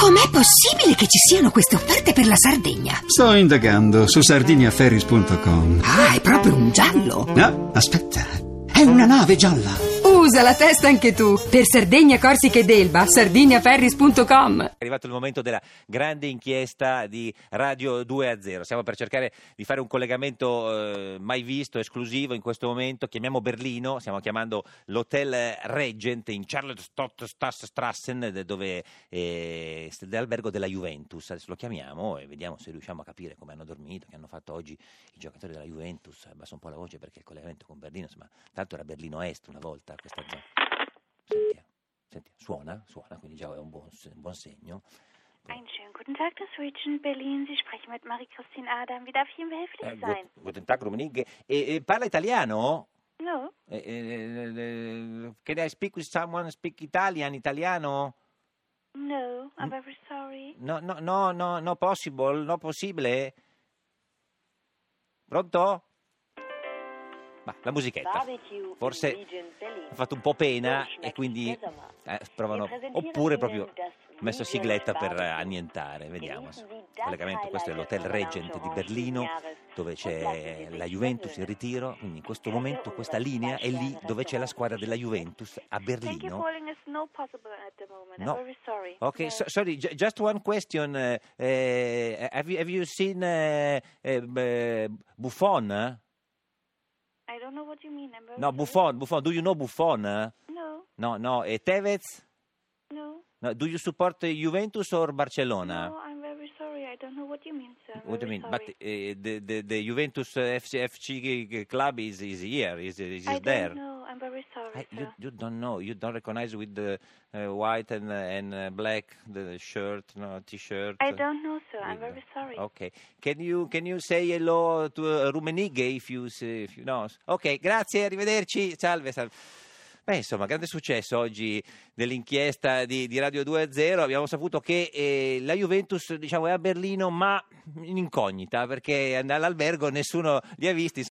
Com'è possibile che ci siano queste offerte per la Sardegna? Sto indagando su sardiniaferries.com. Ah, è proprio un giallo. No, aspetta, è una nave gialla. Usa la testa anche tu. Per Sardegna, Corsica ed Elba, sardiniaferries.com. È arrivato il momento della grande inchiesta di Radio 2-0. Stiamo per cercare di fare un collegamento mai visto, esclusivo in questo momento. Chiamiamo Berlino, stiamo chiamando l'Hotel Regent in Charlottenstrassen, dove è l'albergo della Juventus. Adesso lo chiamiamo e vediamo se riusciamo a capire come hanno dormito, che hanno fatto oggi i giocatori della Juventus. Abbassa un po' la voce perché il collegamento con Berlino, insomma, tanto era Berlino Est una volta questa zona. Sentiamo. Suona, quindi già è un buon segno. Einen schönen guten Tag, das Regent Berlin. Sie sprechen mit Marie-Christine Adam. Wie darf ich Ihnen behilflich sein? Guten Tag, Rummenigge. Parla italiano? No. Can I speak with someone speak italiano? No, I'm very sorry. No possibile. Pronto? Ma la musichetta forse ha fatto un po' pena e quindi provano, oppure proprio messo sigletta per annientare. Vediamo. Collegamento, questo è l'Hotel Regent di Berlino, dove c'è la Juventus in ritiro, quindi in questo momento questa linea è lì dove c'è la squadra della Juventus a Berlino. No. Ok, sorry, just one question. Have you seen Buffon? I don't know what you mean. I'm very No, Buffon. Do you know Buffon? No. No. E Tevez? No. No. Do you support Juventus or Barcelona? No, I'm very sorry. I don't know what you mean, sir. What do you mean? Sorry. But the Juventus FC club is here. Is I there? don't know. I'm very sorry, You sir. don't know. You don't recognize with the white and black the shirt, no t-shirt. I don't know, sir. I'm with very sorry. Okay. Can you say hello to Rummenigge if you know? Ok, grazie, arrivederci. Salve. Beh, insomma, grande successo oggi dell'inchiesta di Radio 2-0. Abbiamo saputo che la Juventus, diciamo, è a Berlino, ma in incognita, perché all'albergo nessuno li ha visti.